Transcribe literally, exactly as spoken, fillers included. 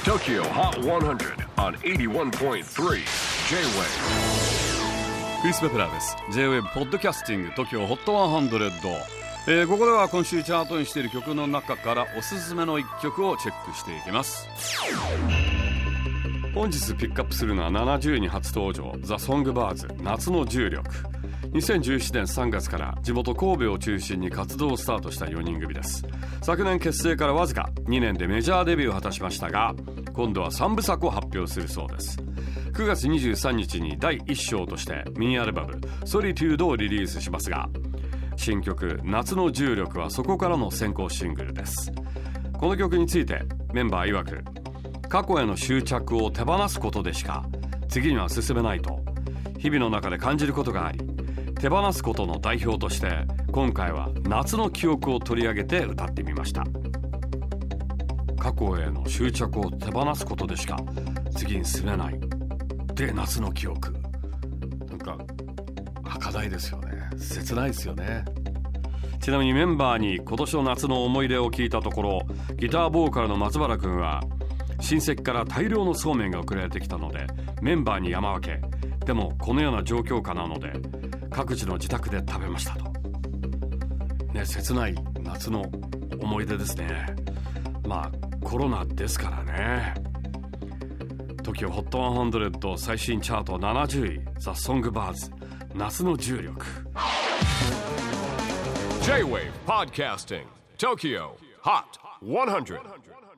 トキオ ホット ひゃく on はちじゅういってんさん J-Wave。 クリス・ベプラーです。 J-Wave ポッドキャスティング トキオ ホット ひゃく、えー、ここでは今週チャートにしている曲の中からおすすめのいっきょくをチェックしていきます。本日ピックアップするのはななじゅういに初登場、ザ・ソングバーズ夏の重力。にせんじゅうななねんさんがつから地元神戸を中心に活動をスタートしたよにん組です。昨年結成からわずかにねんでメジャーデビューを果たしましたが、今度はさんぶさくを発表するそうです。くがつにじゅうさんにちにだいいっ章としてミニアルバムソリテュードをリリースしますが、新曲夏の重力はそこからの先行シングルです。この曲についてメンバー曰く、過去への執着を手放すことでしか次には進めないと日々の中で感じることがあり、手放すことの代表として今回は夏の記憶を取り上げて歌ってみました。過去への執着を手放すことでしか次に進めないで、夏の記憶、なんか儚いですよね。切ないですよね。ちなみにメンバーに今年の夏の思い出を聞いたところ、ギターボーカルの松原くんは親戚から大量のそうめんが送られてきたのでメンバーに山分け、でもこのような状況下なので各自の自宅で食べましたと、ね、切ない夏の思い出ですね。まあコロナですからね。 トキオ ホット ひゃく 最新チャートななじゅうい、ザ・ソングバーズ夏の重力。 J-Wave Podcasting トキオ ホット ひゃく